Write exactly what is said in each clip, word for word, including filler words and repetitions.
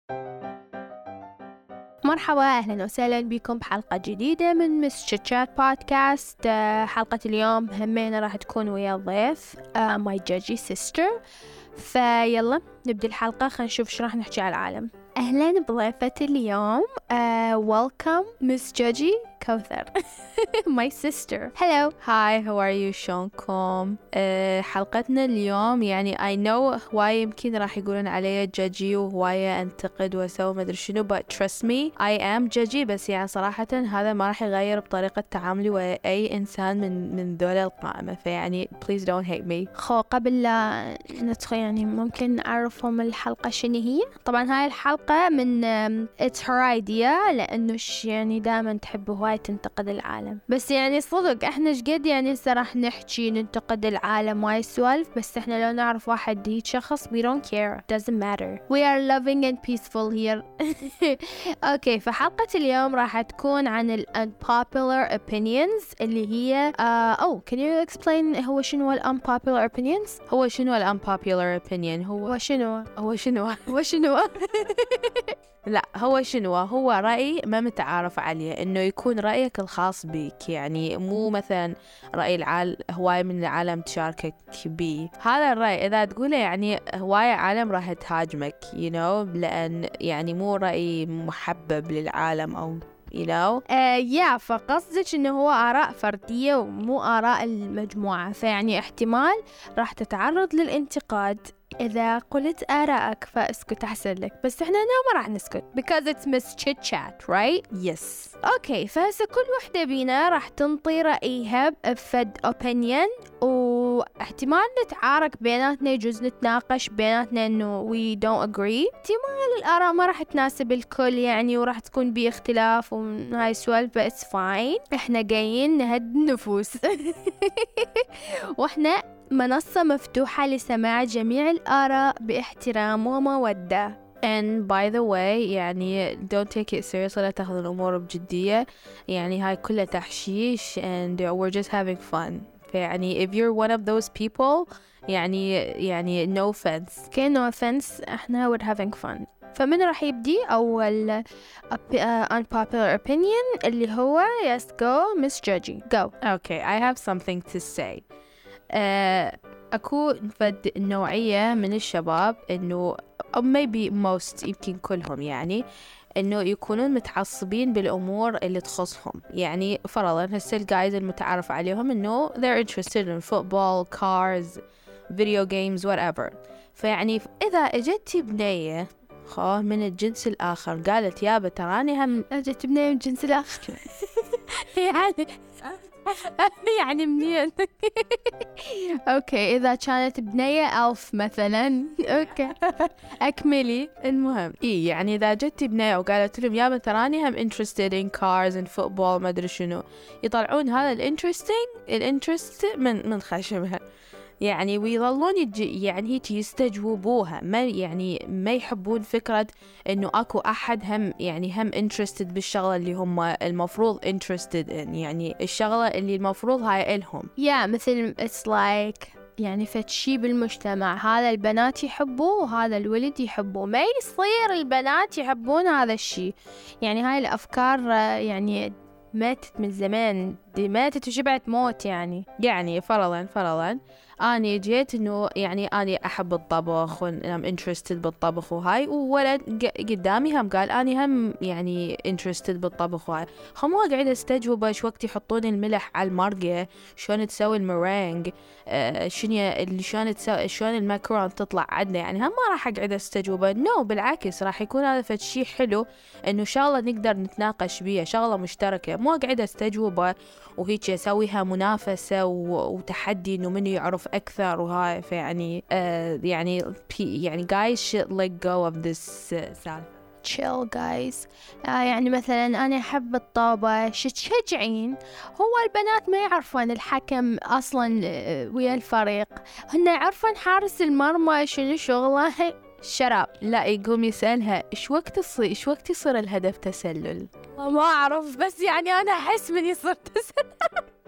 مرحبا، أهلا وسهلا بكم بحلقة جديدة من مس تشات بودكاست. حلقة اليوم همينة راح تكون ويا الضيف ماي جاجي سيستر. فيلا نبدأ الحلقة، خلينا نشوف شو راح نحكي على العالم. أهلا بضيفة اليوم. uh, welcome Miss Jaji كوثر. my sister. hello. Hi, how are you? شلونكم؟ أه حلقتنا اليوم يعني I know هواية يمكن راح يقولون علي جاجي وهواية أنتقد وأسوي ما أدري شنو but trust me I am جاجي، بس يعني صراحة هذا ما راح يغير بطريقة تعاملي ويا أي إنسان من من ذول القائمة، فيعني please don't hate me. خو قبل لا ندخل يعني ممكن نعرفهم الحلقة شنو هي. طبعا هاي الحلقة من it's her idea، لأنه يعني دائما تحب هواي تنتقد العالم، بس يعني صدق احنا شقد يعني هسه راح نحكي ننتقد العالم واي سوالف، بس احنا لو نعرف واحد هيك شخص we don't care, doesn't matter, we are loving and peaceful here. اوكي، فحلقة اليوم راح تكون عن ال unpopular opinions اللي هي او uh, can you explain هو شنو ال unpopular opinions؟ هو شنو ال unpopular opinion؟ هو شنو هو شنو هو شنو لا هو شنو هو رأي ما متعارف عليه، إنه يكون رأيك الخاص بيك، يعني مو مثلا رأي العالم هواية من العالم تشاركك بيه. هذا الرأي إذا تقوله يعني هواية عالم راح تهاجمك you know، لأن يعني مو رأي محبب للعالم أو you know. uh, yeah فقصدك إنه هو آراء فردية ومو آراء المجموعة، فيعني احتمال راح تتعرض للانتقاد إذا قلت آراءك، فاسكت أحسن لك. بس إحنا هنا ما راح نسكت because it's Miss Chit Chat right؟ yes. أوكي، فهسه كل وحدة بينا راح تنطي رأيها بفد opinion، واحتمال نتعارك بيناتنا، يجوز نتناقش بيناتنا إنه we don't agree. احتمال الآراء ما راح تناسب الكل يعني، وراح تكون بيه اختلاف وهاي السوالف but it's fine. إحنا جايين نهد النفوس. وإحنا منصة مفتوحة لسماع جميع الآراء باحترام ومودة. And by the way يعني don't take it seriously، لا تأخذ الأمور بجدية، يعني هاي كلها تحشيش and we're just having fun. فيعني if you're one of those people يعني يعني no offense. okay no offense، احنا we're having fun. فمن راح يبدي أول unpopular opinion اللي هو yes go Miss Jaji go. Okay, I have something to say. uh, أكو فد نوعية من الشباب إنه أو maybe most يمكن كلهم يعني إنه يكونون متعصبين بالأمور اللي تخصهم. يعني فرضاً هسه الجايز المتعارف عليهم إنه they're interested in football, cars, video games, whatever. فيعني إذا اجتي بنية خو من الجنس الآخر قالت يابا تراني هم اجت بنية من الجنس الآخر يعني يعني منين؟ اوكي، اذا كانت بنية ألف مثلا اوكي اكملي. المهم اي يعني اذا جت بنية وقالت لهم يابا تراني هم interested in cars and football ما ادري شنو، يطلعون هذا الانترستينج الانترست من من خشمها يعني، ويظلون يجي يعني هيك يستجوبوها، ما يعني ما يحبون فكرة إنه أكو أحد هم يعني هم interested بالشغلة اللي هم المفروض interested in، يعني الشغلة اللي المفروض هاي إلهم. yeah مثل it's like يعني فتشي بالمجتمع، هذا البنات يحبوه وهذا الولد يحبوه، ما يصير البنات يحبون هذا الشيء. يعني هاي الأفكار يعني ماتت من زمان، دي ماتت وشبعت موت. يعني يعني فرضاً فرضاً أنا جيت إنه يعني أنا أحب الطبخ وأنا interested بالطبخ وهاي، وولد قدامي هم قال أنا هم يعني interested بالطبخ وهاي، هم ما قاعد استجوبه شو وقت يحطون الملح على المرقة، شلون تسوي المرينج، آه شنو اللي شلون تسوي شلون الماكرون تطلع عدنا، يعني هم ما راح أقعد استجوبه. نو no, بالعكس راح يكون هذا فد شيء حلو إنه شغلة نقدر نتناقش بيها، شغلة مشتركة، مو قاعد استجوبه وهيك أسويها منافسة وتحدي إنه من يعرف أكثر وهاي. فيعني uh, يعني يعني guys should let go of this uh, chill guys. آه يعني مثلا أنا أحب الطابة شتشجعين، هو البنات ما يعرفون الحكم أصلا ويا الفريق، هن يعرفون حارس المرمى شنو شغله شراب. لا يقوم يسألها إيش وقت يصير إيش وقت يصير الهدف تسلل. ما أعرف، بس يعني أنا أحس من يصير تسلل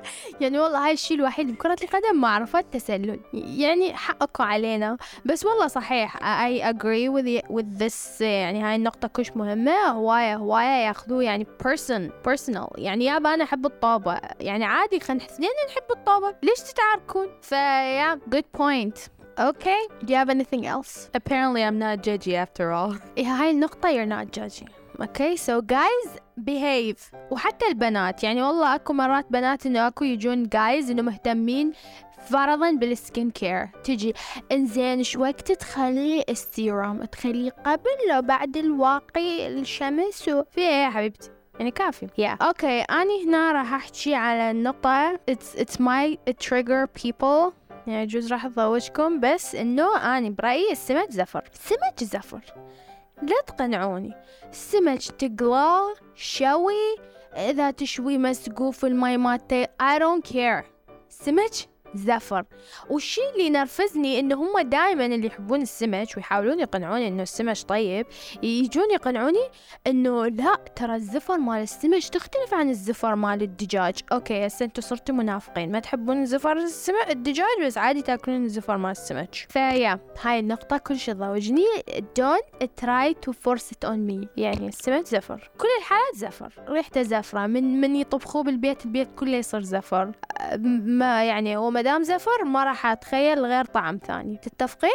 يعني والله هاي الشيء الوحيد بكرة القدم ما عرفت تسلل، يعني حقكم علينا. بس والله صحيح I agree with with this، يعني هاي النقطة كلش مهمة. هواية هواية ياخذوه يعني person personal، يعني يابا أنا أحب الطابة، يعني عادي خلينا اثنين نحب الطابة، ليش تتعاركون؟ فيا good point. Okay, do you have anything else? Apparently I'm not judgy after all. إيه هاي النقطة you're not judging. Okay, so guys behave. وحتى البنات، يعني والله أكو مرات بنات إنه أكو يجون guys إنه مهتمين فرضاً بالسكين كير، تجي إنزين شو وقت تخلي السيروم تخلي قبل لو بعد الواقي الشمس وفي إيه يا حبيبتي، يعني كافي. yeah. اوكي أنا هنا راح أحكي على النقطة it's it's my trigger people، يعني جوز راح أضوجكم، بس إنه أنا برأيي السمك زفر. السمك زفر لا تقنعوني. السمك تقلاه شوي، إذا تشوي مسقوف في الماء مالته I don't care. السمك زفر. والشي اللي ينرفزني إنه هم دائما اللي يحبون السمك ويحاولون يقنعوني إنه السمك طيب، يجون يقنعوني إنه لا ترى الزفر مال السمك تختلف عن الزفر مال الدجاج. أوكي هسه أنتوا صرتوا منافقين، ما تحبون الزفر السمك الدجاج بس عادي تاكلون الزفر مال السمك. فيا هاي النقطة كلش تضوجني. don't try to force it on me. يعني السمك زفر، كل الحالات زفر، ريحته زفرة، من من يطبخوه بالبيت البيت كله يصير زفر. ما يعني هو مدام زفر ما راح أتخيل غير طعم ثاني. تتفقين؟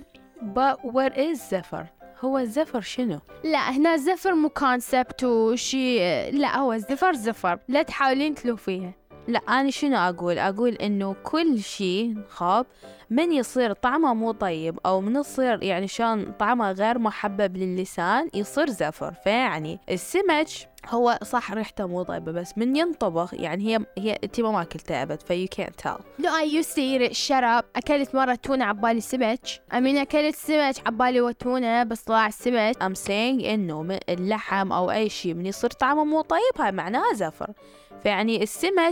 But what is زفر؟ هو الزفر شنو؟ لا هنا الزفر مو كونسبت وشي، لا هو الزفر زفر، لا تحاولين تلوفيها. لا أنا شنو أقول؟ أقول إنه كل شيء خاب من يصير طعمه مو طيب أو من يصير يعني شان طعمه غير محبب للسان يصير زفر. فيعني السمك هو صح ريحته مو طيبة بس من ينطبخ يعني هي هي انتي ما ماكلتها أبد في you can't tell. No I used to eat it. shut up. أكلت مرة تونة عبالي سمك. I mean أكلت سمك عبالي وتونة بس طلع السمك. I'm saying إنه اللحم أو أي شيء من يصير طعمه مو طيب هاي معناها زفر. فيعني السمك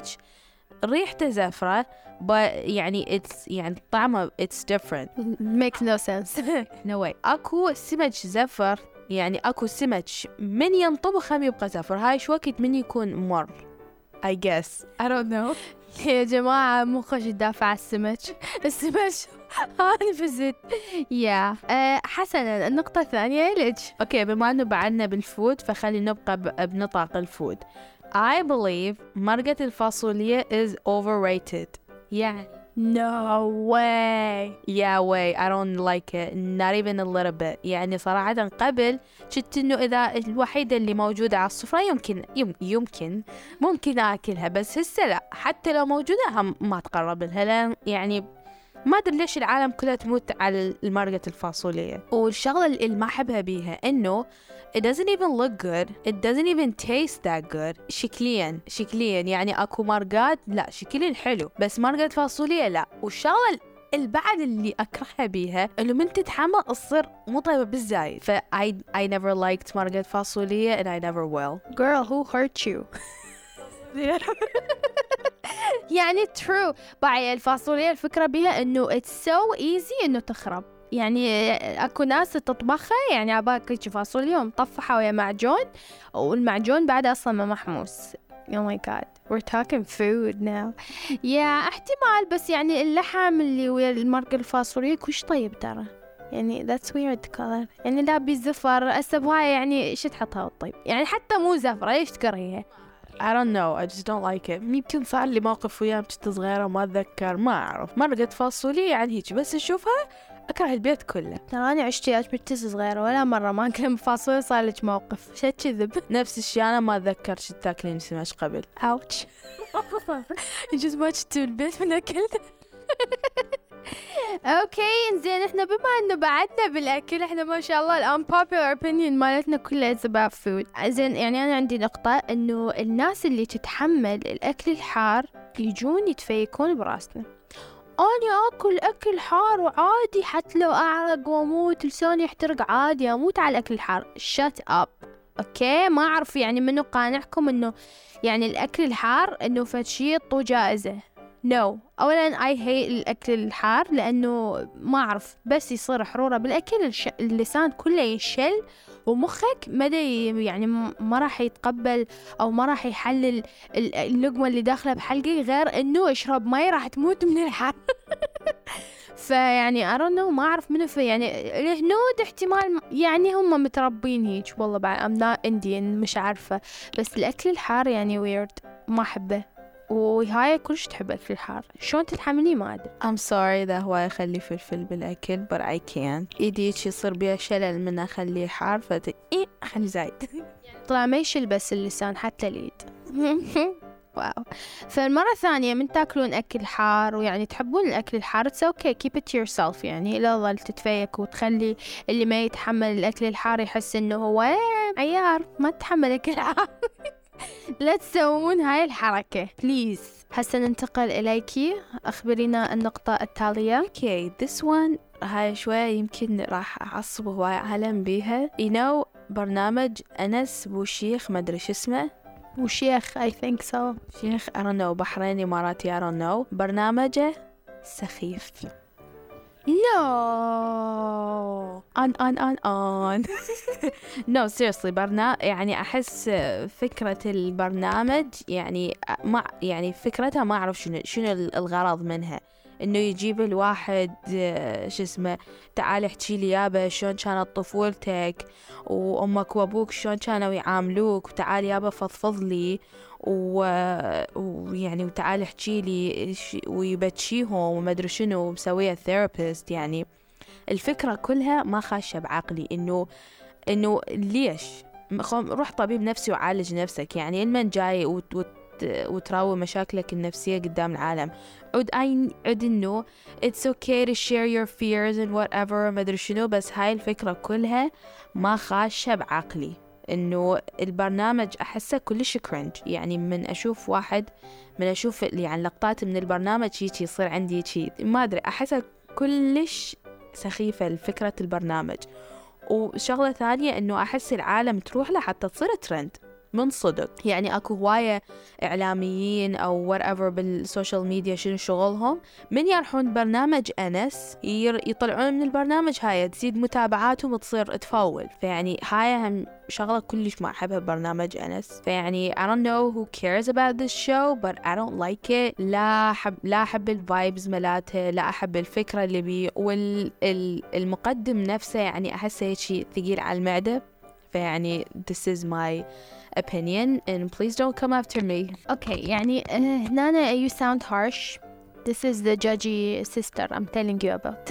ريحته زفرة but يعني it's يعني طعمه it's different. makes no sense. no way. أكو سمك زفر يعني أكو سمك من ينطبخ هم يبقى زفر. هاي شو وقت من يكون مر I guess I don't know. يا جماعة مو خوش تدافع على السمك. السمك أنا فزت. يا حسنا النقطة الثانية ليش؟ أوكي بما أنه بعدنا بالفود فخلي نبقى بنطاق الفود. I believe مرقة الفاصوليا is overrated. يعني no way. yeah way I don't like it not even a little bit. يعني صراحة قبل شفت إنه إذا الوحيدة اللي موجودة على السفرة يمكن يم يمكن ممكن أكلها بس هسه لا، حتى لو موجودة هم ما تقرب لها لأن يعني ما أدري ليش العالم كلها تموت على المرقة الفاصوليا. والشغلة اللي ما أحبها بيها إنه it doesn't even look good, it doesn't even taste that good. شكليا شكليا يعني أكو مرقات لا شكليا حلو بس مرقة فاصوليا لا. والشغلة البعد اللي أكرهها بيها إنه من تتحمى تصير مو طيبة بالزايد. ف I I never liked مرقة فاصوليا and I never will. Girl who hurt you? يعني true. باعي الفاصوليا الفكرة بيها إنه it's so easy إنه تخرب. يعني أكو ناس تطبخها يعني عباك هيك فاصوليا ومطفحة ويا معجون والمعجون بعد أصلا ما محموس. Oh my god we're talking food now. يا احتمال بس يعني اللحم اللي ويا المرقة الفاصوليا كوش طيب ترى يعني that's weird color يعني لا بزفر أسبوعي يعني شو تحطها والطيب يعني حتى مو زفرة ليش تكرهيها؟ I don't know I just don't like it. يمكن صار لي موقف وياه كنت صغيرة ما أتذكر ما أعرف. مرقة فاصوليا يعني هيك بس أشوفها أكره البيت كله. ترى أنا عشت وياك بنتي صغيرة ولا مرة ما أكل فاصوليا صار لك موقف شو كذب. نفس الشيء أنا ما أتذكر شو تاكلين سمك قبل. ouch. جزء ما شفتوا البيت من أكل. اوكي انزين احنا بما انه بعدنا بالاكل احنا ما شاء الله الان popular opinion مالتنا كلها it's about food. زين يعني انا عندي نقطة انه الناس اللي تتحمل الاكل الحار يجون يتفيكون براسنا. انا اكل اكل حار وعادي حتى لو اعرق واموت لساني يحترق عادي اموت على الاكل الحار. shut up. اوكي ما اعرف يعني منو قانعكم انه يعني الاكل الحار انه فشي طو جائزة. no. أولا I hate الأكل الحار لأنه ما أعرف بس يصير حرورة بالأكل الش... اللسان كله ينشل ومخك مدى يعني ما راح يتقبل أو ما راح يحلل اللقمة اللي داخلة بحلقي غير إنه اشرب ماء راح تموت من الحر. فيعني I don't know ما أعرف منو في يعني الهنود احتمال يعني هم متربين هيك والله بعد I'm not Indian مش عارفة بس الأكل الحار يعني weird ما أحبه وهاي كلش تحب أكل الحار شلون تتحمليه ما أدري. I'm sorry ذا هو يخلي فلفل بالأكل but I can't إيديك يصير بيها شلل من أخليه حار فت إيه أخلي زايد. طلع ما يشل بس اللسان حتى اليد. واو. فالمرة الثانية من تاكلون أكل حار ويعني تحبون الأكل الحار it's okay keep it to yourself يعني لا ظل تتفيك وتخلي اللي ما يتحمل الأكل الحار يحس إنه هو عيار ما تتحمل أكل حار. لا تسوون هاي الحركة بليز. هسه ننتقل إليكي أخبرينا النقطة التالية. okay this one هاي شوية يمكن راح أعصب هواي عالم بيها you know برنامج أنس بوشيخ ما أدري شو اسمه وشيخ I think so شيخ I don't know بحريني إماراتي I don't know برنامجه سخيف. no on on on on no seriously برنا يعني أحس فكرة البرنامج يعني ما يعني فكرتها ما أعرف شنو شنو الغرض منها إنه يجيب الواحد شو اسمه تعال احكي لي يابا شلون كانت طفولتك وأمك وأبوك شلون كانوا يعاملوك وتعال يابا فضفض لي ويعني وتعال احكي لي ويبتشيهم وما أدري شنو مسوية ثيرابيست. يعني الفكرة كلها ما خاشة بعقلي إنه إنه ليش روح طبيب نفسي وعالج نفسك يعني المن جاي وت وت وتراوي مشاكلك النفسية قدام العالم عد أي عد إنه it's okay to share your fears and whatever ما أدري شنو بس هاي الفكرة كلها ما خاشة بعقلي. إنه البرنامج أحسه كلش كرنج يعني من أشوف واحد من أشوف يعني لقطات من البرنامج هيك يصير عندي شيء ما أدري أحسه كلش سخيفة لفكرة البرنامج. وشغلة ثانية إنه أحس العالم تروح له حتى تصير ترند من صدق يعني أكو هواية إعلاميين أو whatever بالسوشيال ميديا شنو شغلهم من يرحون برنامج أنس يطلعون من البرنامج هاي تزيد متابعاتهم وتصير تفاول. فيعني هاي هم شغلة كلش ما أحبها ببرنامج أنس. فيعني I don't know who cares about this show but I don't like it. لا أحب لا أحب الفايبز ملاته لا أحب الفكرة اللي بيه والمقدم نفسه يعني أحسه شيء ثقيل على المعدة. فيعني this is my opinion and please don't come after me. Okay يعني هنا you sound harsh. This is the judgy sister I'm telling you about.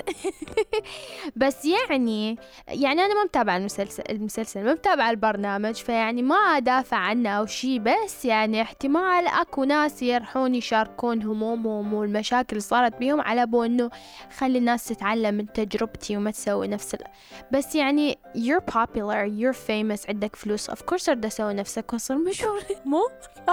بس يعني يعني أنا ما متابعة المسلسل المسلسل ما متابعة البرنامج فيعني ما أدافع عنه أو شيء بس يعني احتمال أكو ناس يرحون يشاركون همومهم والمشاكل اللي صارت بيهم على بو إنه خلي الناس تتعلم من تجربتي وما تسوي نفس ال... بس يعني you're popular you're famous عندك فلوس of course رد أسوي نفسك وصل مشهور مو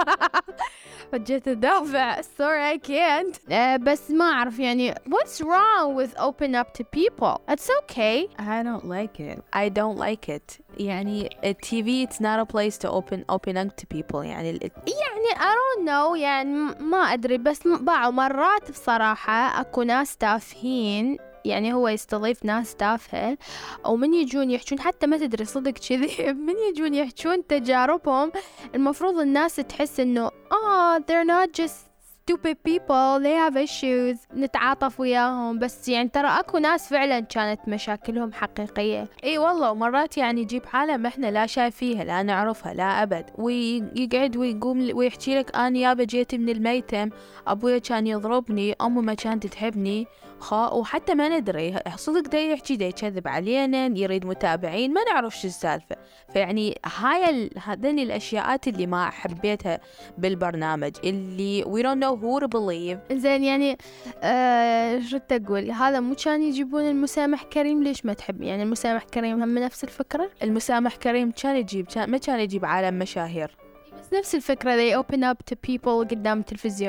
وجيت أدافع sorry I can't. بس ما أعرف يعني what's wrong with open up to people it's okay. I don't like it I don't like it يعني التي في it's not a place to open open up to people يعني ال... يعني I don't know يعني ما أدري بس بعض مرات بصراحة أكو ناس تافهين يعني هو يستضيف ناس تافهة ومن يجون يحجون حتى ما تدري صدق كذي من يجون يحجون تجاربهم المفروض الناس تحس إنه آه they're not just stupid people they have issues نتعاطف وياهم. بس يعني ترى أكو ناس فعلا كانت مشاكلهم حقيقية. اي والله ومرات يعني يجيب حالة احنا لا شايفيها لا نعرفها لا أبد ويقعد ويقوم ويحكي لك أنا يابا جيت من الميتم أبويا كان يضربني أمي ما كانت تحبني خا وحتى ما ندري صدق دا يحكي دا يكذب علينا يريد متابعين ما نعرف شو السالفة. فيعني هاي ال... هذين الأشياءات اللي ما حبيتها بالبرنامج اللي we don't know who to believe. زين يعني آه شو تقول هذا مو كان يجيبون المسامح كريم ليش ما تحب يعني المسامح كريم هم نفس الفكرة. المسامح كريم كان يجيب كان ما كان يجيب عالم مشاهير بس نفس الفكرة they open up to people قدام التلفزيون.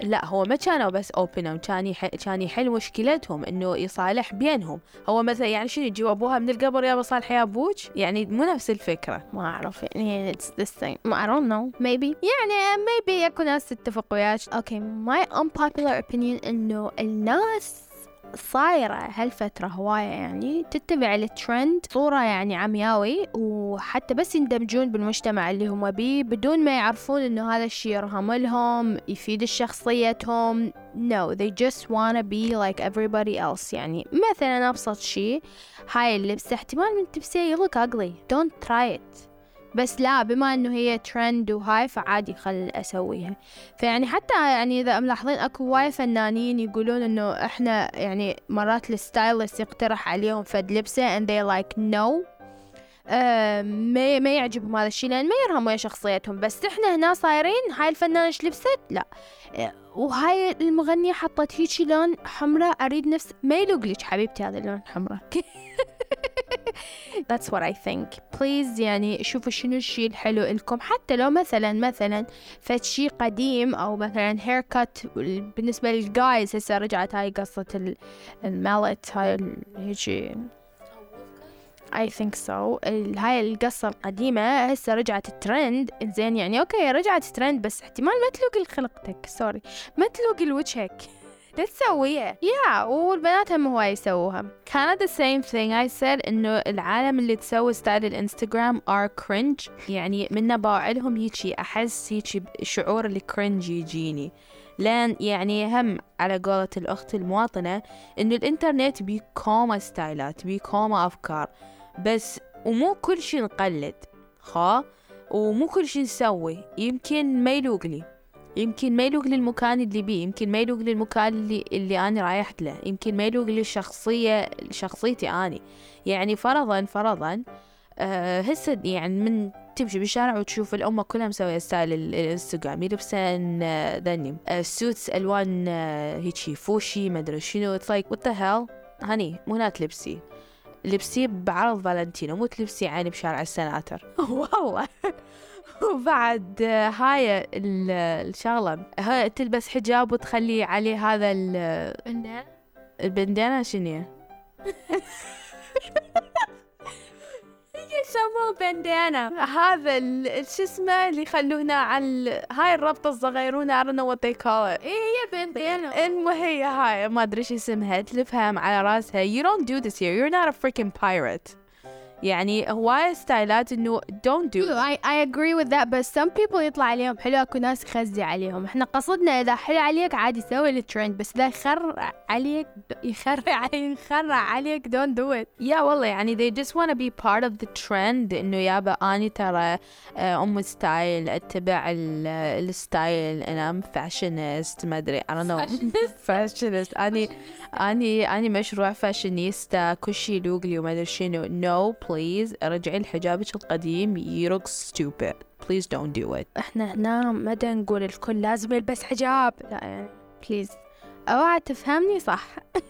لا هو ما كانوا بس open كان يح... كان يحل مشكلتهم إنه يصالح بينهم. هو مثلا يعني شنو يجيب أبوها من القبر يا بصالح يا أبوك، يعني مو نفس الفكرة. ما أعرف يعني it's the same. I don't know maybe يعني maybe يكون ناس تتفق وياك. okay my unpopular opinion إنه الناس صايرة هالفترة هواية يعني تتبع الترند صورة يعني عمياوي، وحتى بس يندمجون بالمجتمع اللي هم بيه بدون ما يعرفون إنه هذا الشيء يرهم لهم يفيد شخصيتهم. no they just wanna be like everybody else. يعني مثلا أبسط شيء هاي اللبسة احتمال من تلبسيه you look ugly don't try it، بس لا بما انه هي ترند وهاي فعادي خل اسويها. فيعني حتى يعني اذا ملاحظين اكو وايد فنانين يقولون انه احنا يعني مرات الستايلست يقترح عليهم فد لبسه and they like no آه ما ما يعجبهم هذا الشيء لان ما يرهم ويا شخصيتهم، بس احنا هنا صايرين هاي الفنانة ايش لبست لا آه وهاي المغنية حطت هيجي لون حمراء اريد نفس ما يلوق لك حبيبتي هذا اللون حمراء. That's what I think. Please يعني شوفوا شنو الشيء الحلو لكم، حتى لو مثلا مثلا فد شيء قديم أو مثلا hair cut بالنسبة للجايز هسه رجعت هاي قصة المالت هاي هيجي I think so. هاي القصة القديمة هسه رجعت الترند زين يعني أوكي رجعت الترند بس احتمال ما تلوق لخلقتك سوري ما تلوق لوجهك لا تسويها يا yeah. والبنات هم هواي يسووها. كانت the same thing I said إنه العالم اللي تسوي ستايل الانستغرام are cringe، يعني من نباع لهم هيجي أحس هيجي شعور الكرنج يجيني، لأن يعني هم على قولة الأخت المواطنة إنه الإنترنت بيكوما ستايلات بيكوما أفكار بس، ومو كل شي نقلد خا ومو كل شي نسوي يمكن ما يلوق لي، يمكن ما يلوق للمكان اللي بيه، يمكن ما يلوق للمكان اللي اللي أنا رايحت له، يمكن ما يلوق للشخصية شخصيتي أني. يعني فرضا فرضا أه هسه يعني من تمشي بالشارع وتشوف الأمة كلها مسوية ستايل الانستغرام يلبسن ذني أه سوتس ألوان أه هيجي فوشي ما أدري شنو it's like what the hell هني مو هنا تلبسي لبسي بعرض فالنتينو مو تلبسي عيني بشارع السناتر. والله وبعد هاي الشغلة هاي تلبس حجاب وتخلي عليه هذا البندانة البندانة شنو يسموه بندانة هذا شو اسمه اللي يخلونه على هاي الربطة الصغيرونة I don't know what they call it. إيه هي بندانة المهم هي هاي ما أدري شو اسمها تلفها على راسها. you don't do this here you're not a freaking pirate. يعني هواي ستايلات إنه don't do I, I agree with that but some people يطلع عليهم حلو أكو ناس يخزي عليهم. إحنا قصدنا إذا حلو عليك عادي سوي الترند بس إذا يخر عليك يخر يخر عليك don't do it. يا yeah, والله يعني they just wanna be part of the trend إنه يابا أني ترى أم ستايل أتبع الستايل أنا fashionist ما أدري I don't know fashionist أني أني أني مشروع فاشينيستا كل شي يلوق لي وما أدري شنو. no please رجعي لحجابك القديم you look stupid please don't do it. احنا هنا مدى نقول الكل لازم يلبس حجاب لا يعني please اوعى تفهمني صح.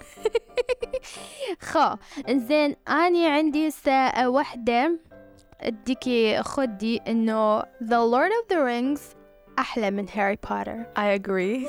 خو انزين اني عندي ساعة واحدة اديكي خدي انه The Lord of the Rings احلى من هاري بوتر. I agree.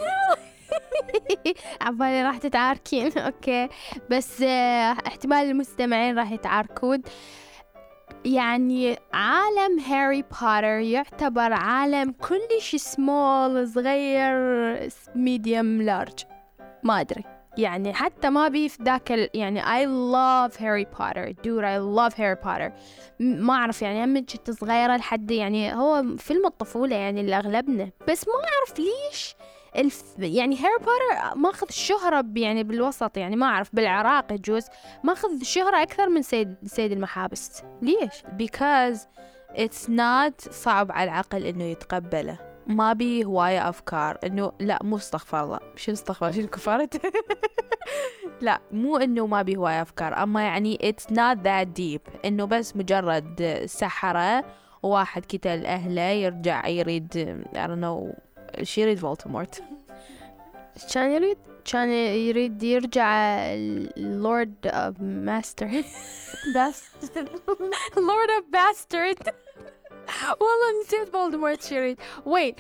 عبالي راح تتعاركين اوكي بس اه احتمال المستمعين راح يتعاركون. يعني عالم هاري بوتر يعتبر عالم كلش سمول صغير ميديوم لارج ما ادري يعني حتى ما بي في ذاك ال... يعني I love Harry Potter dude I love Harry Potter ما أعرف يعني أما كنت صغيرة لحد يعني هو فيلم الطفولة يعني اللي أغلبنا بس ما أعرف ليش الف... يعني هاري بوتر ماخذ شهرة يعني بالوسط يعني ما أعرف بالعراق يجوز ماخذ شهرة أكثر من سيد سيد المحابس. ليش؟ because it's not صعب على العقل إنه يتقبله ما بي هواية أفكار إنه لا مو استغفر الله شو استغفر شو كفرت لا مو إنه ما بي هواية أفكار أما يعني it's not that deep إنه بس مجرد سحرة وواحد قتل أهله يرجع يريد I don't know شي يريد فولتمورت كان يريد كان يريد يرجع لورد اوف ماستر لورد اوف باسترد والله نسيت فولدمورت شرير. وين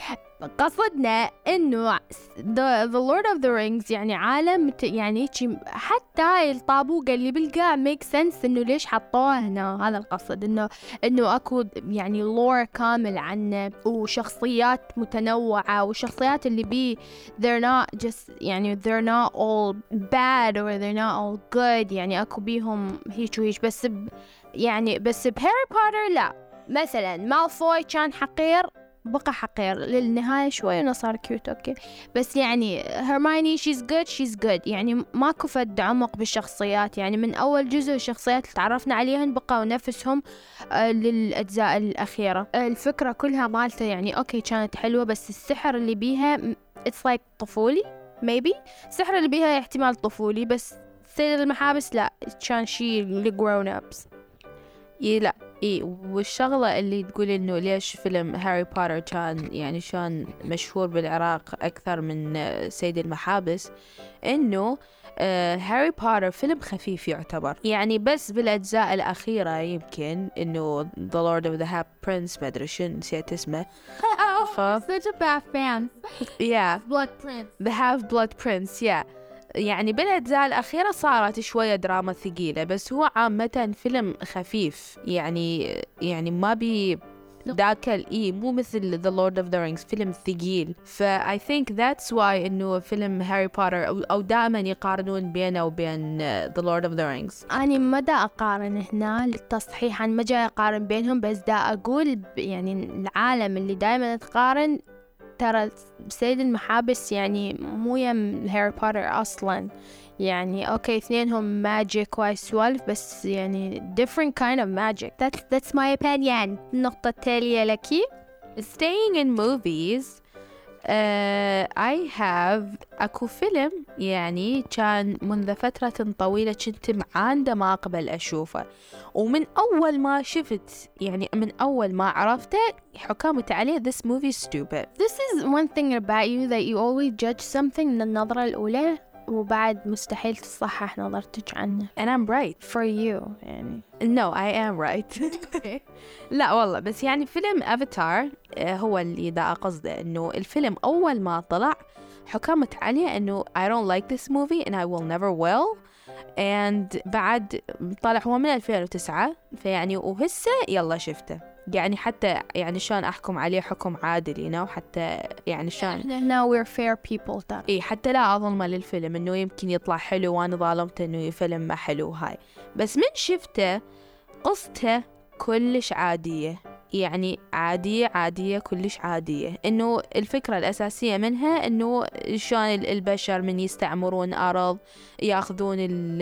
قصدنا إنه the, the Lord of the Rings يعني عالم يعني حتى الطابوق اللي بالقاع make sense إنه ليش حطوه هنا. هذا القصد، إنه إنه أكو يعني lore كامل عنه وشخصيات متنوعة، والشخصيات اللي بيه they're not just يعني they're not all bad or they're not all good، يعني أكو بيهم هيك وهيك. بس ب يعني بس بهاري بوتر لا، مثلا مالفوي كان حقير بقى حقير للنهاية شوي إنه صار كيوت أوكي، بس يعني هرمايني she's good she's good يعني ماكو فد عمق بالشخصيات. يعني من أول جزء الشخصيات اللي تعرفنا عليهن بقوا نفسهم آه للأجزاء الأخيرة. آه الفكرة كلها مالته يعني أوكي كانت حلوة، بس السحر اللي بيها it's like طفولي maybe. السحر اللي بيها احتمال طفولي، بس سيد المحابس لا كان شي لgrown ups. إيه لا إيه. والشغلة اللي تقول إنه ليش فيلم هاري بوتر كان يعني شان مشهور بالعراق أكثر من سيد المحابس، إنه آه هاري بوتر فيلم خفيف يعتبر، يعني بس بالأجزاء الأخيرة يمكن إنه The Lord of the Half-Prince ما أدري شن نسيت اسمه. Oh, such a bad fan. Yeah. Blood Prince. The Half-Blood Prince. Yeah. يعني بالأجزاء الأخيرة صارت شوية دراما ثقيلة، بس هو عامة فيلم خفيف يعني يعني ما بي ذاك الإيه مو مثل The Lord of the Rings فيلم ثقيل. ف I think that's why إنه فيلم هاري بوتر أو, أو دائما يقارنون بينه وبين The Lord of the Rings. أنا ما دا أقارن هنا للتصحيح، أنا ما جاي أقارن بينهم، بس دا أقول يعني العالم اللي دائما تقارن ترى سيد المحابس يعني مو يم هاري بوتر أصلاً. يعني أوكي اثنينهم ماجيك وسوالف، بس يعني different kind of magic. That's that's my opinion. النقطة التالية لك. Staying in movies. Uh, I have أكو فيلم يعني كان منذ فترة طويلة كنت معاندة ما أقبل أشوفه، ومن أول ما شفت يعني من أول ما عرفته حكامت عليه this movie stupid. This is one thing about you that you always judge something من النظرة الأولى وبعد مستحيل تصحح نظرتك عنه. And I'm right for you يعني. No I am right. لا والله، بس يعني فيلم أفاتار هو اللي دا قصده، إنه الفيلم أول ما طلع حكمت عليه إنه I don't like this movie and I will never will. and بعد طلع هو من ألفين وتسعة، فيعني وهسه يلا شفته، يعني حتى يعني شان أحكم عليه حكم عادل هنا، وحتى يعني شان إحنا هنا we're fair people ترى. إيه حتى لا أظلمه للفيلم إنه يمكن يطلع حلو وأنا ظالمته إنه فيلم ما حلو هاي. بس من شفته قصته كلش عادية، يعني عادية عادية كلش عادية. إنه الفكرة الأساسية منها إنه شلون البشر من يستعمرون أرض يأخذون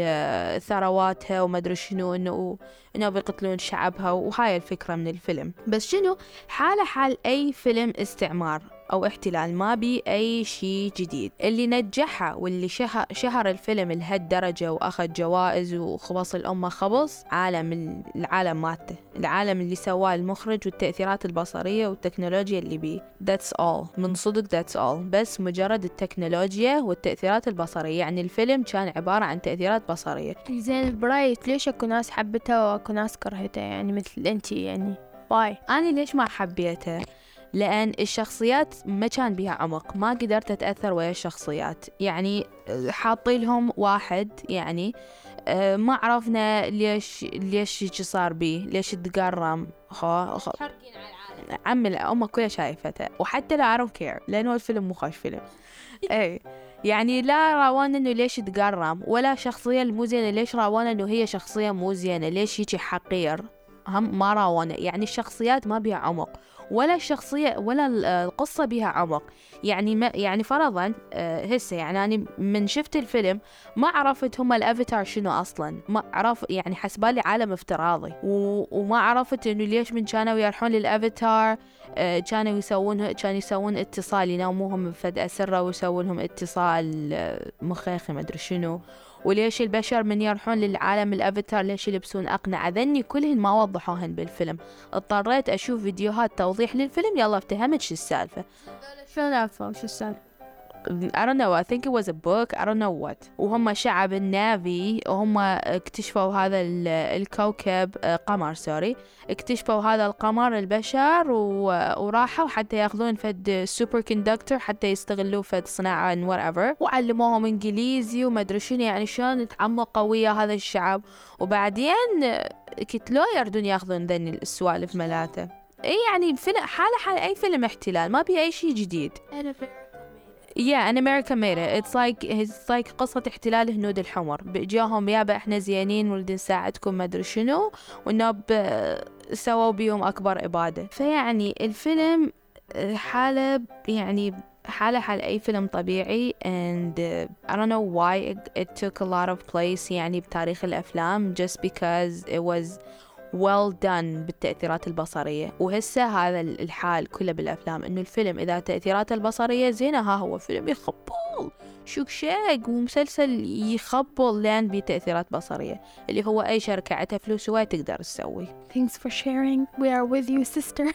ثرواتها وما أدري شنو، إنه إنه بيقتلون شعبها، وهاي الفكرة من الفيلم. بس شنو حالة حال أي فيلم استعمار أو احتلال، ما بي أي شيء جديد. اللي نجحها واللي شهر, شهر الفيلم لهالدرجة وأخذ جوائز وخبص الأمة خبص عالم العالم ماته، العالم اللي سواه المخرج والتأثيرات البصرية والتكنولوجيا اللي بيه. That's all من صدق that's all. بس مجرد التكنولوجيا والتأثيرات البصرية، يعني الفيلم كان عبارة عن تأثيرات بصرية. زين برايت ليش أكو ناس حبتها وأكو ناس كرهتها يعني مثل أنتي يعني باي؟ أنا ليش ما حبيتها؟ لأن الشخصيات ما كان بها عمق، ما قدرت أتأثر ويا الشخصيات. يعني حاطي لهم واحد يعني ما عرفنا ليش ليش يجي صار بيه، ليش تقرم خو خو حرقين على العالم. عمل أمه كلها شايفتها، وحتى لا I don't care لأنه الفيلم مو خوش فيلم. أي يعني لا راونا إنه ليش تقرم، ولا شخصية المو زينة ليش راونا إنه هي شخصية مو زينة، ليش يجي حقير، هم ما راونا. يعني الشخصيات ما بها عمق، ولا الشخصية ولا القصة بها عمق. يعني ما يعني فرضا هسه يعني أنا من شفت الفيلم ما عرفت هم الأفاتار شنو أصلا، ما عرف يعني حسبالي عالم افتراضي، وما عرفت إنه ليش من كانوا يروحون للأفاتار كانوا يسوون كانوا يسوون اتصال، يناموهم فجأة سرة ويسوون لهم اتصال مخيخي ما أدري شنو، وليش البشر من يروحون للعالم الأفاتار ليش يلبسون أقنعة. ذني كلهن ما وضحوهن بالفيلم، اضطريت أشوف فيديوهات توضيح للفيلم، يلا افتهمت شو السالفة. شو السالفة شو السالفة؟ I don't know I think it was a book I don't know what. وهم شعب النافي وهم اكتشفوا هذا الكوكب قمر سوري اكتشفوا هذا القمر البشر وراحوا حتى ياخذون فد سوبر كوندكتور حتى يستغلوه فد صناعة whatever وعلموهم انجليزي وما ادري شنو يعني شلون تعمقوا ويا هذا الشعب وبعدين كتلو يردون ياخذون ذن السوالف ملاته. اي يعني فيلم حاله حال اي فيلم احتلال ما بي اي شيء جديد. Yeah, and America made it. It's like it's like قصة احتلال الهنود الحمر. بيجاهم يابا احنا زينين ولدي نساعدكم ما ادري شنو والناب سووا بيهم اكبر ابادة. فيعني الفيلم حالة يعني حالة حال اي فيلم طبيعي and uh, I don't know why it, it took a lot of place يعني بتاريخ الافلام just because it was well done بالتأثيرات البصرية. وهسه هذا الحال كله بالأفلام إنه الفيلم إذا تأثيرات البصرية زينة ها هو فيلم يخبل شوك شاق ومسلسل يخبل لان بتأثيرات بصرية اللي هو أي شركة عتها فلوس وما تقدر تسوي. Thanks for sharing. We are with you sister.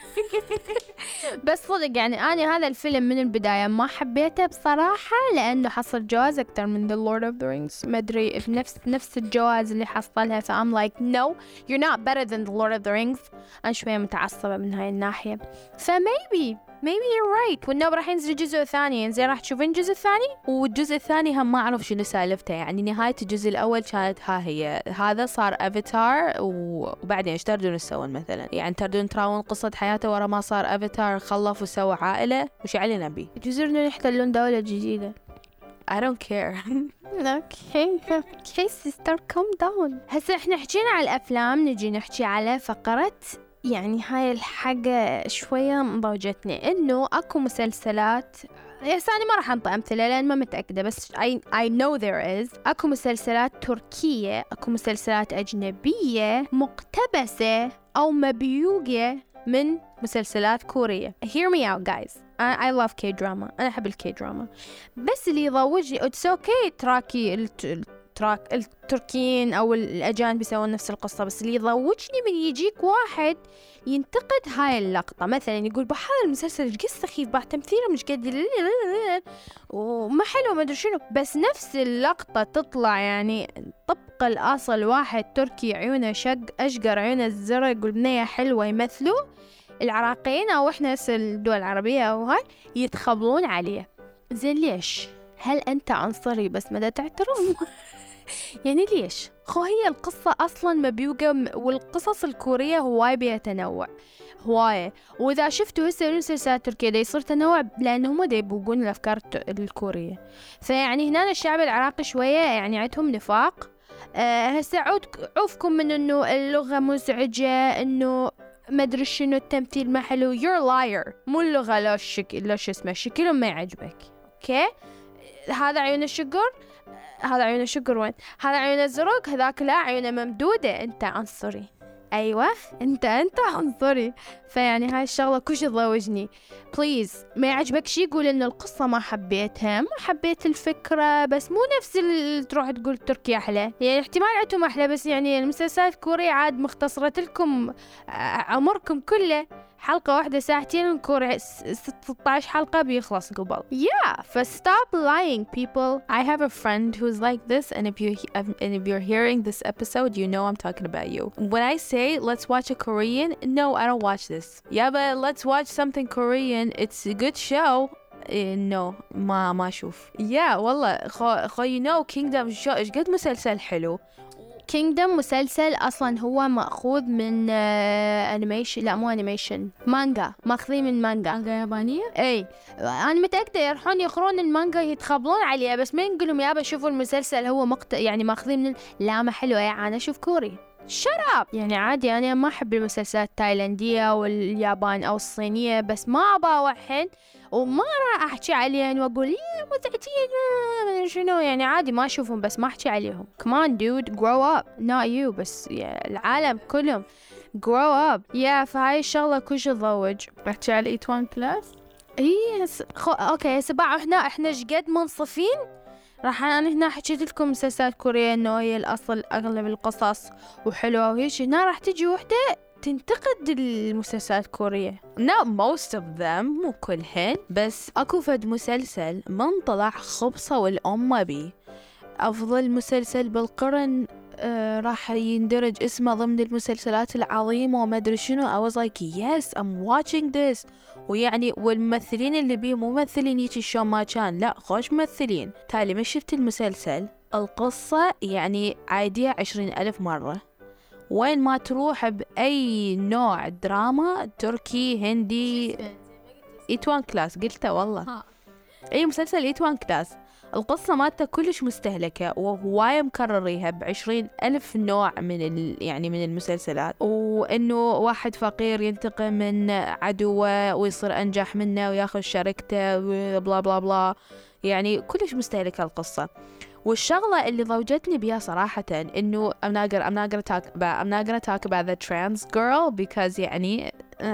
بس صدق يعني أنا هذا الفيلم من البداية ما حبيته بصراحة لأنه حصل جواز أكتر من The Lord of the Rings. ما أدري نفس نفس الجواز اللي حصلها ف I'm like no you're not better than The Lord of the Rings. أنا شوية متعصبة من هاي الناحية ف maybe maybe you're right. والنوب راح ينزل الجزء الثاني زين راح تشوفين الجزء الثاني والجزء الثاني هم ما أعرف شنو سالفته يعني نهاية الجزء الأول كانت ها هي هذا صار أفاتار وبعدين ايش تردون تسوون مثلا يعني تردون تراون قصة حياته ورا ما صار أفاتار خلف وسوى عائلة وش علينا بيه يجوزون يحتلون دولة جديدة. I don't care. Okay, okay sister calm down. هسه احنا حكينا على الأفلام نجي نحكي على فقرة يعني هاي الحاجة شوية مضوجتني إنه أكو مسلسلات يس أنا ما راح أنطي أمثلة لأن ما متأكدة بس I, I know there is أكو مسلسلات تركية أكو مسلسلات أجنبية مقتبسة أو مبيوجة من مسلسلات كورية. Hear me out guys. I, I love K-drama. أنا أحب الكي-drama بس اللي يضوجني it's okay تراكي الت... تراك التركيين أو الأجانب بيسوون نفس القصة بس اللي يضوجني من يجيك واحد ينتقد هاي اللقطة مثلا يقول بحال المسلسل قد سخيف بح تمثيله مش قد وما حلو ما أدري شنو بس نفس اللقطة تطلع يعني طبق الأصل واحد تركي عيونه شق أشقر عيونه الزرق والبنية حلوة يمثلوا العراقيين أو إحنا الدول العربية أو هاي يتخبلون عليه. زين ليش؟ هل أنت عنصري بس مدى تعترف؟ يعني ليش؟ خو هي القصة أصلاً مبيوجة والقصص الكورية هواي بيها تنوع هواي وإذا شفتوا هسه المسلسلات التركية دا يصير تنوع لأنهم دا يبوقون الأفكار الكورية فيعني هنا الشعب العراقي شوية يعني عندهم نفاق. أه هسه عوفكم من إنه اللغة مزعجة إنه ما أدري شنو التمثيل ما حلو you're liar مو اللغة لا الشكل لا شو اسمه شكلهم ما يعجبك أوكي هذا عيون الشقر هذا عيون الشقر وين هذا عيون الزرق هذاك لا عيونه ممدودة أنت عنصري. أيوة أنت أنت عنصري. فيعني هاي الشغلة كوش تضوجني بليز ما يعجبك شي قول إن القصة ما حبيتها ما حبيت الفكرة بس مو نفس اللي تروح تقول تركيا أحلى يعني احتمال عندهم أحلى بس يعني المسلسلات الكورية عاد مختصرة لكم عمركم كله حلقة واحدة ساعتين الكوري ستة عشر حلقة بيخلص قبل. Yeah, ف stop lying people. I have a friend who's like this and if you and if you're hearing this episode you know I'm talking about you. When I say let's watch a Korean, no I don't watch this. Yeah but let's watch something Korean. It's a good show. no ما ما أشوف. Yeah والله خو خو you know Kingdom شو إيش قد مسلسل حلو. Kingdom مسلسل أصلاً هو مأخوذ من أنيميشن لا مو أنيميشن مانجا ماخذين من مانجا مانجا يابانية أي أنا متأكدة يروحون يقرون المانجا يتخبلون عليها بس ما نقولهم يابا شوفوا المسلسل هو مقت يعني ماخذين من لا ما حلو يا أنا أشوف كوري شراب يعني عادي أنا ما أحب المسلسلات التايلاندية واليابان أو الصينية بس ما أبغى وحين وما راح أحكي عليهم وأقول يا متعتين شنو يعني عادي ما أشوفهم بس ما أحكي عليهم. Come on dude grow up not you بس العالم كلهم grow up. يا yeah, فهاي الشغلة كلش تضوج. أحكي على إيتوان كلاس إيه خو أوكي سبعة إحنا إحنا جد منصفين راح أنا هنا حكيت لكم مسلسلات كورية إنه هي الأصل أغلب القصص وحلوة وهيش هنا راح تجي وحدة تنتقد المسلسلات الكورية. not most of them مو كلهن، بس أكو فد مسلسل من طلع خبصة والأمة بي أفضل مسلسل بالقرن، آه راح يندرج اسمه ضمن المسلسلات العظيمة وما أدري شنو. I was like yes I'm watching this. ويعني والممثلين اللي بيه مو ممثلين هيك شلون ما كان، لا خوش ممثلين. تالي ما شفت المسلسل، القصة يعني عادية عشرين ألف مرة. وين ما تروح بأي نوع دراما تركي هندي إيتوان كلاس قلته والله. أي مسلسل إيتوان كلاس القصة مالته كلش مستهلكة وهواية مكرريها بعشرين ألف نوع من ال... يعني من المسلسلات، وإنه واحد فقير ينتقم من عدوه ويصير أنجح منه وياخذ شركته بلا بلا بلا، يعني كلش مستهلكة القصة. والشغلة اللي ضوجتني بيها صراحة إنه I'm not gonna, I'm not gonna talk about I'm not gonna talk about the trans girl because يعني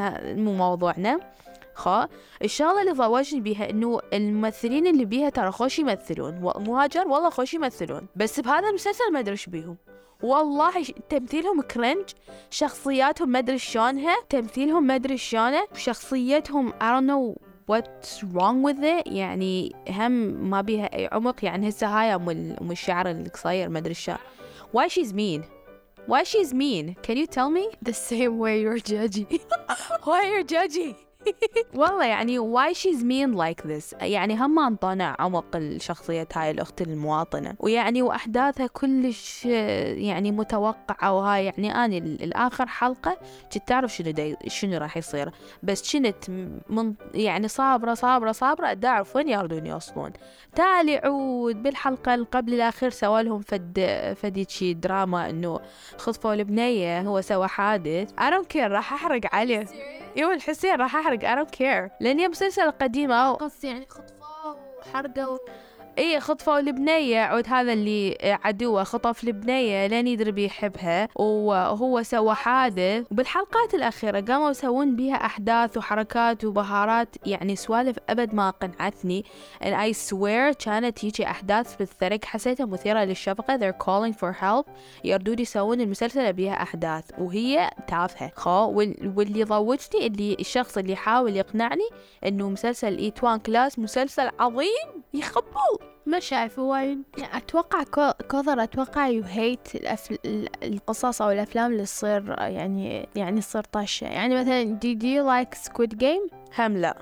مو موضوعنا. خا الشغلة اللي ضوجني بيها إنه الممثلين اللي بيها ترى خوش يمثلون، مهاجر والله خوش يمثلون، بس بهذا المسلسل ما أدري إيش بيهم والله. تمثيلهم كرنج، شخصياتهم ما أدري شلونها، تمثيلهم ما أدري شلونه، شخصيتهم I don't know what's wrong with it. يعني هم ما بيها أي عمق. يعني هسه هاي أم أم الشعر القصير ما أدري شو. Why she's mean? Why she's mean? Can you tell me? The same way you're judging. Why you're judging? والله يعني why she's mean like this. يعني هم انطانا عمق الشخصية هاي الأخت المواطنة، ويعني وأحداثها كلش يعني متوقعة. وهاي يعني أنا الآخر حلقة كنت تعرف شنو داي شنو راح يصير، بس كنت من يعني صابرة صابرة صابرة دا أعرف وين يردون يوصلون. تالي عود بالحلقة اللي قبل الأخير سوالهم فد فديتشي دراما إنه خطفوا البنية، هو سوى حادث. I don't care راح أحرق عليه. يوم الحسين راح أحرق I don't care لأن مسلسل قديمة قص يعني خطفوه وحرقوا. إيه خطفوا البنية، عود هذا اللي عدوه خطف البنية لين يدري بيحبها وهو سوى حادث. وبالحلقات الأخيرة قاموا يسوون بيها أحداث وحركات وبهارات، يعني سوالف أبد ما قنعتني. and I swear كانت هيجي أحداث بالثرق حسيتها مثيرة للشفقة. they're calling for help. يردون يسوون المسلسل بيها أحداث وهي تافهة خا. واللي ضوجني اللي الشخص اللي يحاول يقنعني إنه مسلسل إيتوان كلاس مسلسل عظيم يخبل. ما شايفه وايد. يعني أتوقع كوثر أتوقع you hate الأفل... القصص أو الأفلام اللي تصير يعني يعني تصير طاشة. يعني مثلا did you like Squid Game؟ هم لا.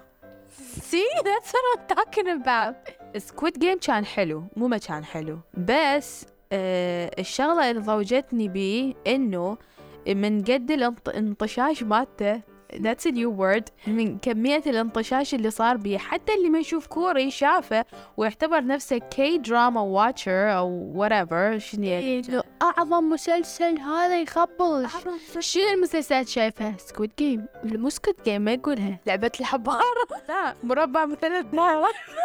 See that's what I'm talking about. Squid Game كان حلو مو ما كان حلو، بس آه الشغلة اللي ضوجتني بيه إنه من قد الانطشاش مالته that's a new word، من كمية الانطشاش اللي صار بيه حتى اللي ما يشوف كوري شافه ويعتبر نفسه كي دراما واتشر أو whatever. شنو يعني أعظم مسلسل هذا يخبل. شنو المسلسلات شايفها؟ سكويد جيم. مو سكويد جيم ما يقولها لعبة الحبار. لا مربع مثلث نار.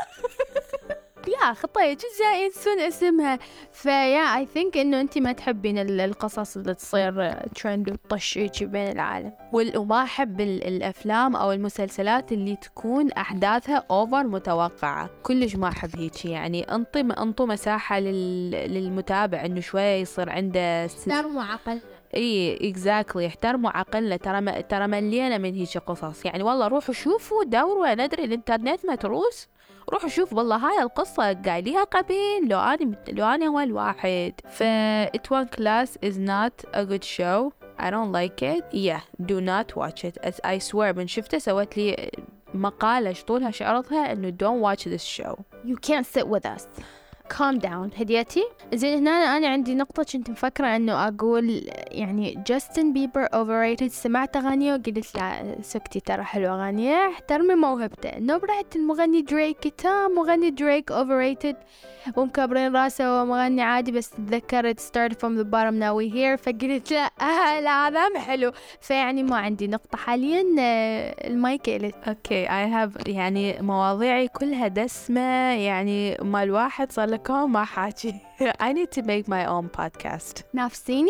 لا خطية جزء ينسون اسمها. فيا I think إنه أنتي ما تحبين القصص اللي تصير ترند وتطشيش بين العالم. وما أحب الأفلام أو المسلسلات اللي تكون أحداثها أوفر متوقعة، كلش ما أحب هيك. يعني أنطي أنطوا مساحة لل... للمتابع إنه شوية يصير عنده احترموا عقل. اي اكزاكتلي احترموا عقلنا. ترى ما... ترى ملينا من هيك قصص. يعني والله روحوا شوفوا دوروا، ندري الانترنت متروس، روحوا شوفوا والله هاي القصة قايليها قبل لو أنا لو أنا هو الواحد. ف إيتوان Class is not a good show. I don't like it. Yeah, do not watch it. As I swear من شفته سوت لي مقالة شطولها شعرتها إنه don't watch this show. You can't sit with us. calm down هديتي. زين هنا أنا عندي نقطة كنت مفكرة إنه أقول يعني جاستن بيبر overrated. سمعت أغانيه وقلت لا سكتي ترى حلوة أغانيه، احترمي موهبته. نبرة المغني دريك تا مغني دريك overrated ومكبرين راسه ومغني عادي، بس تذكرت start from the bottom now we here فقلت لا آه لا هذا حلو. فيعني ما عندي نقطة حاليا. المايك إلت. okay I have يعني مواضيعي كلها دسمة، يعني ما الواحد صار لكم ما حاكي. I need to make my own podcast. نافسيني؟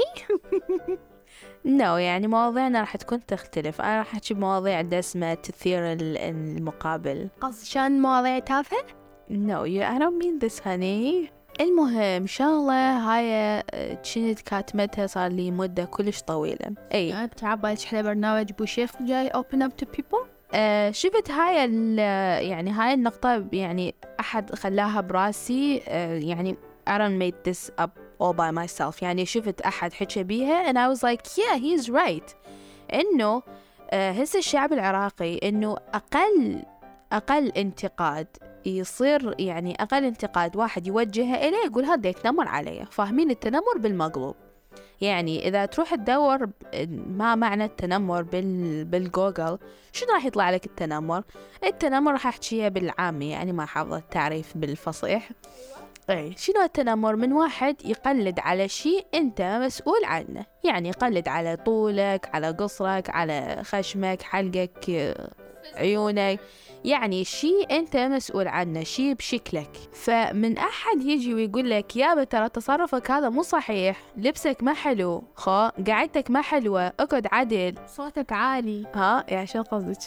no يعني مواضيعنا راح تكون تختلف. أنا راح أحكي بمواضيع دسمة تثير المقابل. قصدي شان مواضيع تافهة؟ no you, I don't mean this honey. المهم شغلة هاي كنت كاتمتها صار لي مدة كلش طويلة. اي انت عبالك احنا برنامج بوشيخ جاي open up to people. آه شفت هاي يعني هاي النقطة يعني أحد خلاها براسي. آه يعني I don't make this up all by myself. يعني شفت أحد حكى بيها and I was like yeah he's right. إنه آه هسه الشعب العراقي إنه أقل أقل انتقاد يصير يعني أقل انتقاد واحد يوجهه إليه يقول هذا يتنمر عليه. فاهمين التنمر بالمقلوب؟ يعني إذا تروح تدور ما معنى التنمر بال بالجوجل شنو راح يطلع لك التنمر؟ التنمر راح أحكيها بالعامي يعني ما حافظة التعريف بالفصيح. أي شنو التنمر؟ من واحد يقلد على شيء أنت مسؤول عنه. يعني يقلد على طولك، على قصرك، على خشمك، حلقك، عيونك، يعني شيء أنت مسؤول عنه، شيء بشكلك. فمن أحد يجي ويقول لك يابا ترى تصرفك هذا مو صحيح، لبسك ما حلو، خا قعدتك ما حلوة، اقعد عدل، صوتك عالي، ها يعني شو قصدك؟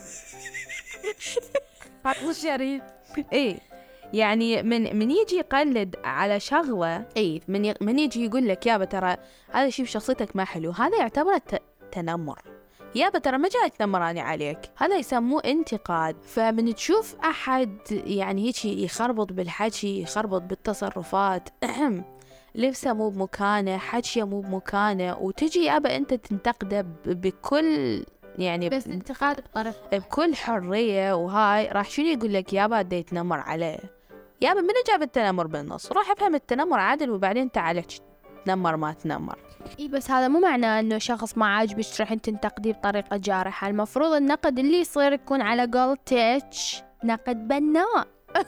مو شريف. إيه يعني من من يجي يقلد على شغلة، إيه من ي... من يجي يقول لك يابا ترى هذا شيء بشخصيتك ما حلو، هذا يعتبر ت... تنمر. يابا ترى ما جاي تنمراني عليك، هذا يسموه انتقاد. فمن تشوف أحد يعني هيك يخربط بالحكي، يخربط بالتصرفات، لبسه مو بمكانه، حكيه مو بمكانه، وتجي يابا أنت تنتقده بكل يعني بس انتقاد بطرف بكل حرية، وهاي راح شنو يقول لك يابا دا يتنمر عليه. يابا من جاب التنمر بالنص؟ روح افهم التنمر عادل وبعدين تعال تنمر ما تنمر. اي بس هذا مو معناه انه شخص ما عاجبك تروح انت تنتقديه بطريقة جارحة. المفروض النقد اللي يصير يكون على قولتك نقد بناء.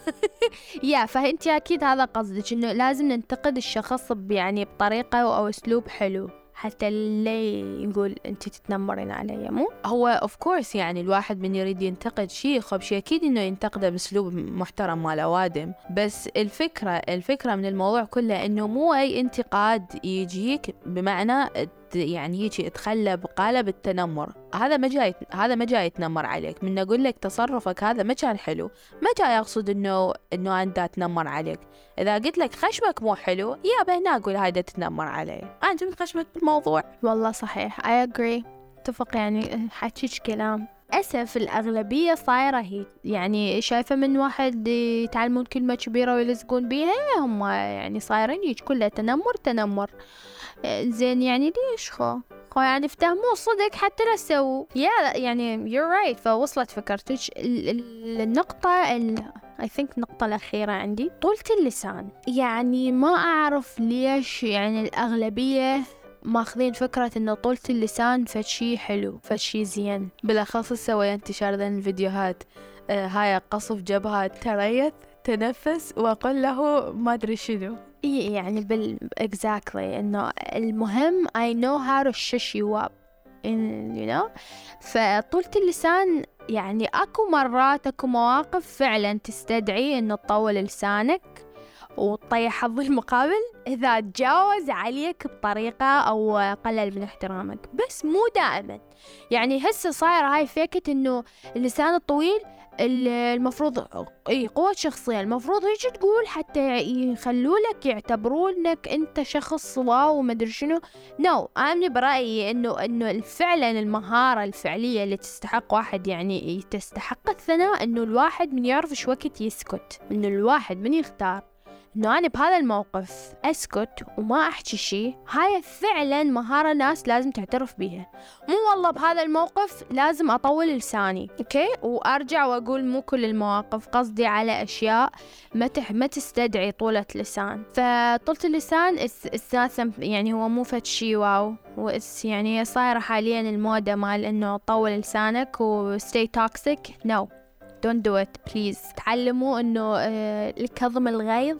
يا فانت اكيد هذا قصدك، انه لازم ننتقد الشخص يعني بطريقة او اسلوب حلو حتى اللي يقول انت تتنمرين علي. مو هو اوف كورس يعني الواحد من يريد ينتقد شيء خب شيء اكيد انه ينتقده باسلوب محترم مال اوادم. بس الفكره الفكره من الموضوع كله انه مو اي انتقاد يجيك بمعنى يعني هيك تخلى بقالب التنمر. هذا ما جاي هذا ما جاي يتنمر عليك. من اقول لك تصرفك هذا ما كان حلو، ما جاي اقصد انه انه انت اتنمر عليك. اذا قلت لك خشمك مو حلو يا هنا اقول هذا تتنمر علي، انت من خشمك بالموضوع. والله صحيح I agree اتفق. يعني حكيش كلام أسف الأغلبية صايرة هي يعني شايفة من واحد يتعلمون كلمة كبيرة ويلزقون بيها هم يعني صايرين هيك كلها تنمر تنمر. زين يعني ليش خو خو يعني افتهموا صدق حتى لا سووا يا يعني you're right. فوصلت فكرتك النقطة ال I think النقطة الأخيرة عندي طولة اللسان. يعني ما أعرف ليش يعني الأغلبية ماخذين فكرة إنه طولة اللسان فشي حلو فشي زين. بالأخص سوى انتشار ذن الفيديوهات آه هاي قصف جبهات تريث تنفس وأقول له ما أدري شنو. إيه يعني بال exactly إنه المهم I know how to shush you up in you know. فطولة اللسان يعني أكو مرات أكو مواقف فعلا تستدعي إنه تطول لسانك وتطيح حظ المقابل إذا تجاوز عليك بطريقة أو قلل من احترامك، بس مو دائما. يعني هسه صاير هاي فكرة إنه اللسان الطويل المفروض إيه قوة شخصية، المفروض هيك تقول حتى يخلولك يعتبرونك أنت شخص واو ومدري شنو. نو no. أنا برأيي إنه إنه فعلا المهارة الفعلية اللي تستحق واحد يعني تستحق الثناء إنه الواحد من يعرف شو وقت يسكت، إنه الواحد من يختار إنه أنا بهذا الموقف أسكت وما أحكي شيء. هاي فعلا مهارة ناس لازم تعترف بيها. مو والله بهذا الموقف لازم أطول لساني أوكي وأرجع وأقول مو كل المواقف، قصدي على أشياء ما تح ما تستدعي طولة لسان. فطولة اللسان أساسا يعني هو مو فد شيء واو، وإس يعني صايرة حاليا الموضة مال إنه طول لسانك و stay toxic. no don't do it please. تعلموا إنه آه الكظم الغيظ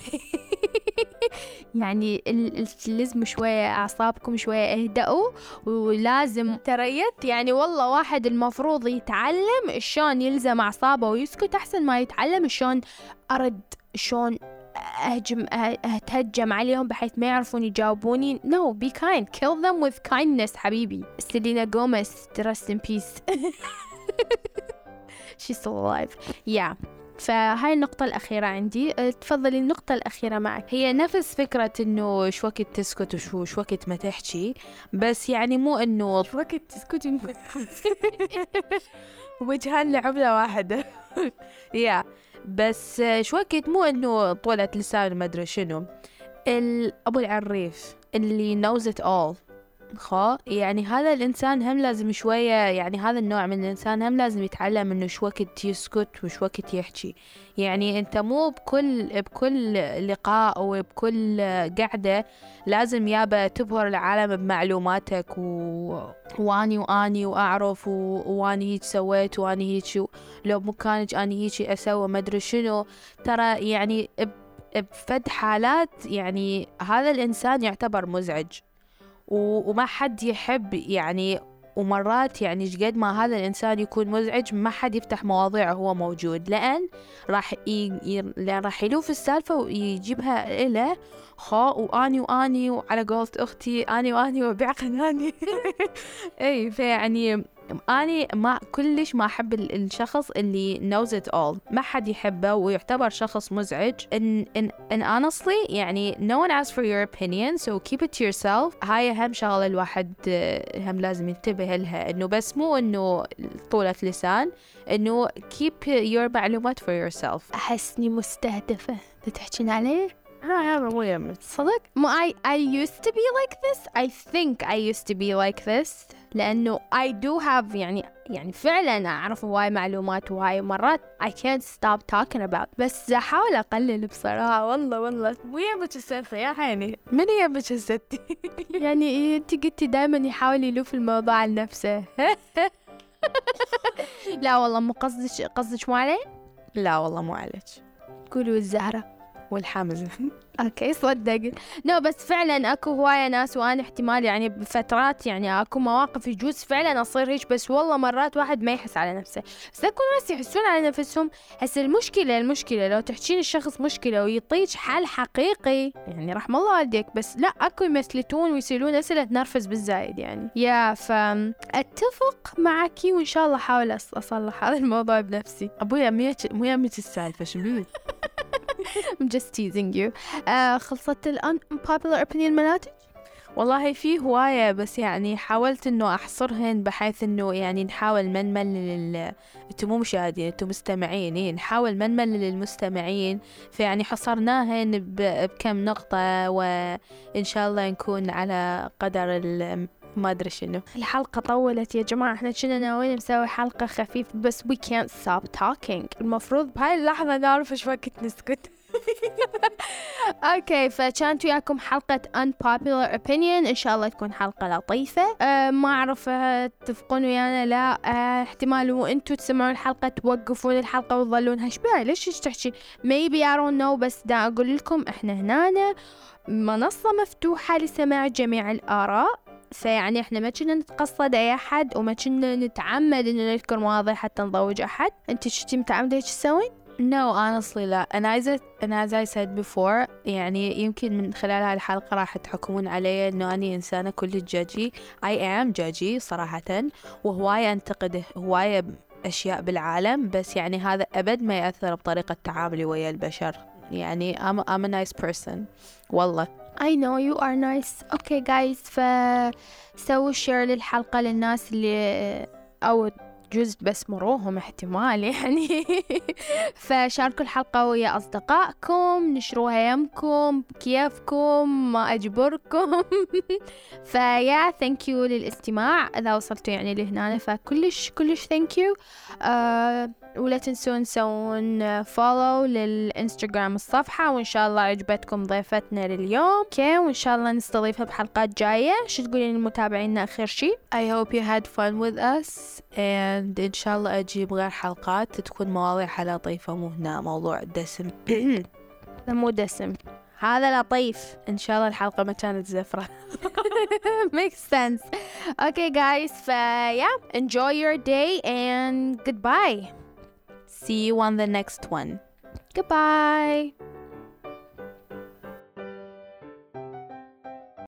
يعني لازم شوية أعصابكم شوية اهدأوا ولازم تريت. يعني والله واحد المفروض يتعلم شلون يلزم أعصابه ويسكت أحسن ما يتعلم شلون أرد شلون أهجم أتهجم عليهم بحيث ما يعرفون يجاوبوني. no be kind kill them with kindness حبيبي. سيلينا غوميز rest in peace she's still alive yeah. فهاي النقطة الأخيرة عندي. تفضلي النقطة الأخيرة معك. هي نفس فكرة إنه شو وقت تسكت وشو شو وقت ما تحكي، بس يعني مو إنه شو وقت تسكت وجهان لعملة واحدة يا بس شو وقت مو إنه طولة لسان ما أدري شنو. أبو العريف اللي knows it all خا يعني هذا الإنسان هم لازم شوية، يعني هذا النوع من الإنسان هم لازم يتعلم إنه شو وقت يسكت وشو وقت يحكي. يعني أنت مو بكل بكل لقاء وبكل قعدة لازم يابا تبهر العالم بمعلوماتك و... واني واني وأعرف و... واني هيك سويت واني هيك شو لو مو كانت اني هيك أسوي ما أدري شنو. ترى يعني ب... بفد حالات يعني هذا الإنسان يعتبر مزعج وما حد يحب يعني، ومرات يعني قد ما هذا الإنسان يكون مزعج ما حد يفتح مواضيع هو موجود، لأن راح ي... ي... لأن راح يلوف السالفة ويجيبها إله خا واني واني وعلى قولة أختي اني واني وبيع قناني اي فيعني أنا ما كلش ما أحب الشخص اللي knows it all، ما حد يحبه ويعتبر شخص مزعج. in, in, in honestly يعني no one asks for your opinion so keep it to yourself. هاي أهم شغلة الواحد هم لازم ينتبه لها، إنه بس مو إنه طولة لسان، إنه keep your معلومات for yourself. أحسني مستهدفة تحكين عليه. ها مو يمت صدق مو I I used to be like this. I think I used to be like this لأنه I do have يعني يعني فعلا أعرف هواي معلومات وهاي مرات I can't stop talking about، بس أحاول أقلل بصراحة. والله والله مو يمك السالفة يا حيني، من يمك الستي يعني أنت قلتي دائما يحاول يلوف الموضوع لنفسه لا والله مو قصدك قصدك مو علي؟ لا والله مو عليك، قولوا الزهرة والحامزة اوكي صدق نو no, بس فعلا اكو هواية ناس وانا احتمال يعني بفترات يعني اكو مواقف يجوز فعلا اصير هيك، بس والله مرات واحد ما يحس على نفسه، بس اكو ناس يحسون على نفسهم. هسه المشكلة المشكلة لو تحكين الشخص مشكلة ويطيج حل حقيقي يعني رحم الله والديك، بس لا اكو يمثلتون ويسألون اسئلة تنرفز بالزايد يعني يا فاتفق معك وان شاء الله احاول اصلح هذا الموضوع بنفسي. ابويا مو يمك السالفة شو I'm just teasing you. آه خلصت ال unpopular opinion مالاتك؟ والله في هواية بس يعني حاولت انه احصرهن بحيث انه يعني نحاول ما نملل انتم مو مشاهدين انتم مستمعين، إيه نحاول ما نملل المستمعين، فيعني حصرناهن بكم نقطة وان شاء الله نكون على قدر ما أدري شنو. الحلقة طولت يا جماعة، احنا كنا ناويين نسوي حلقة خفيفة بس we can't stop talking. المفروض بهاي اللحظة نعرف ايش وقت نسكت. اوكي فكانت وياكم حلقة unpopular opinion، ان شاء الله تكون حلقة لطيفة. أه ما اعرف تتفقون ويانا لا أه احتمال وانتوا تسمعون الحلقة توقفون الحلقة وتظلون هشبه ليش ايش تحكي maybe I don't know، بس دا اقول لكم احنا هنا منصة مفتوحة لسماع جميع الآراء، فيعني احنا ما كنا نتقصد اي احد وما كنا نتعمد انه نذكر مواضيع حتى نضوج احد. انت شتي متعمدة ايش تسوين؟ No honestly لا، أنا عايزة أنا as I said before يعني يمكن من خلال هاي الحلقة راح تحكمون علي إنه أنا إنسانة كل جاجي. I am جاجي صراحة، وهواية أنتقد هواية أشياء بالعالم، بس يعني هذا أبد ما يأثر بطريقة تعاملي ويا البشر. يعني I'm, I'm a nice person والله. I know you are nice. Okay guys فسووا شير للحلقة للناس اللي أو جزء بس مروهم احتمال يعني فشاركوا الحلقة ويا أصدقائكم، نشروها يمكم كيفكم ما أجبركم فيا thank you للاستماع إذا وصلتوا يعني لهنا، فكلش كلش thank you. uh, ولا تنسون تسوون follow للإنستغرام الصفحة، وإن شاء الله عجبتكم ضيفتنا لليوم كي، وإن شاء الله نستضيفها بحلقات جاية. شو تقولين للمتابعين آخر شيء؟ I hope you had fun with us and إن شاء الله أجيب غير حلقات تكون مواضيع لطيفة، مو هنا موضوع دسم مو دسم هذا لطيف. إن شاء الله الحلقة ما كانت زفرة makes sense. Okay guys ف yeah enjoy your day and goodbye. See you on the next one. Goodbye.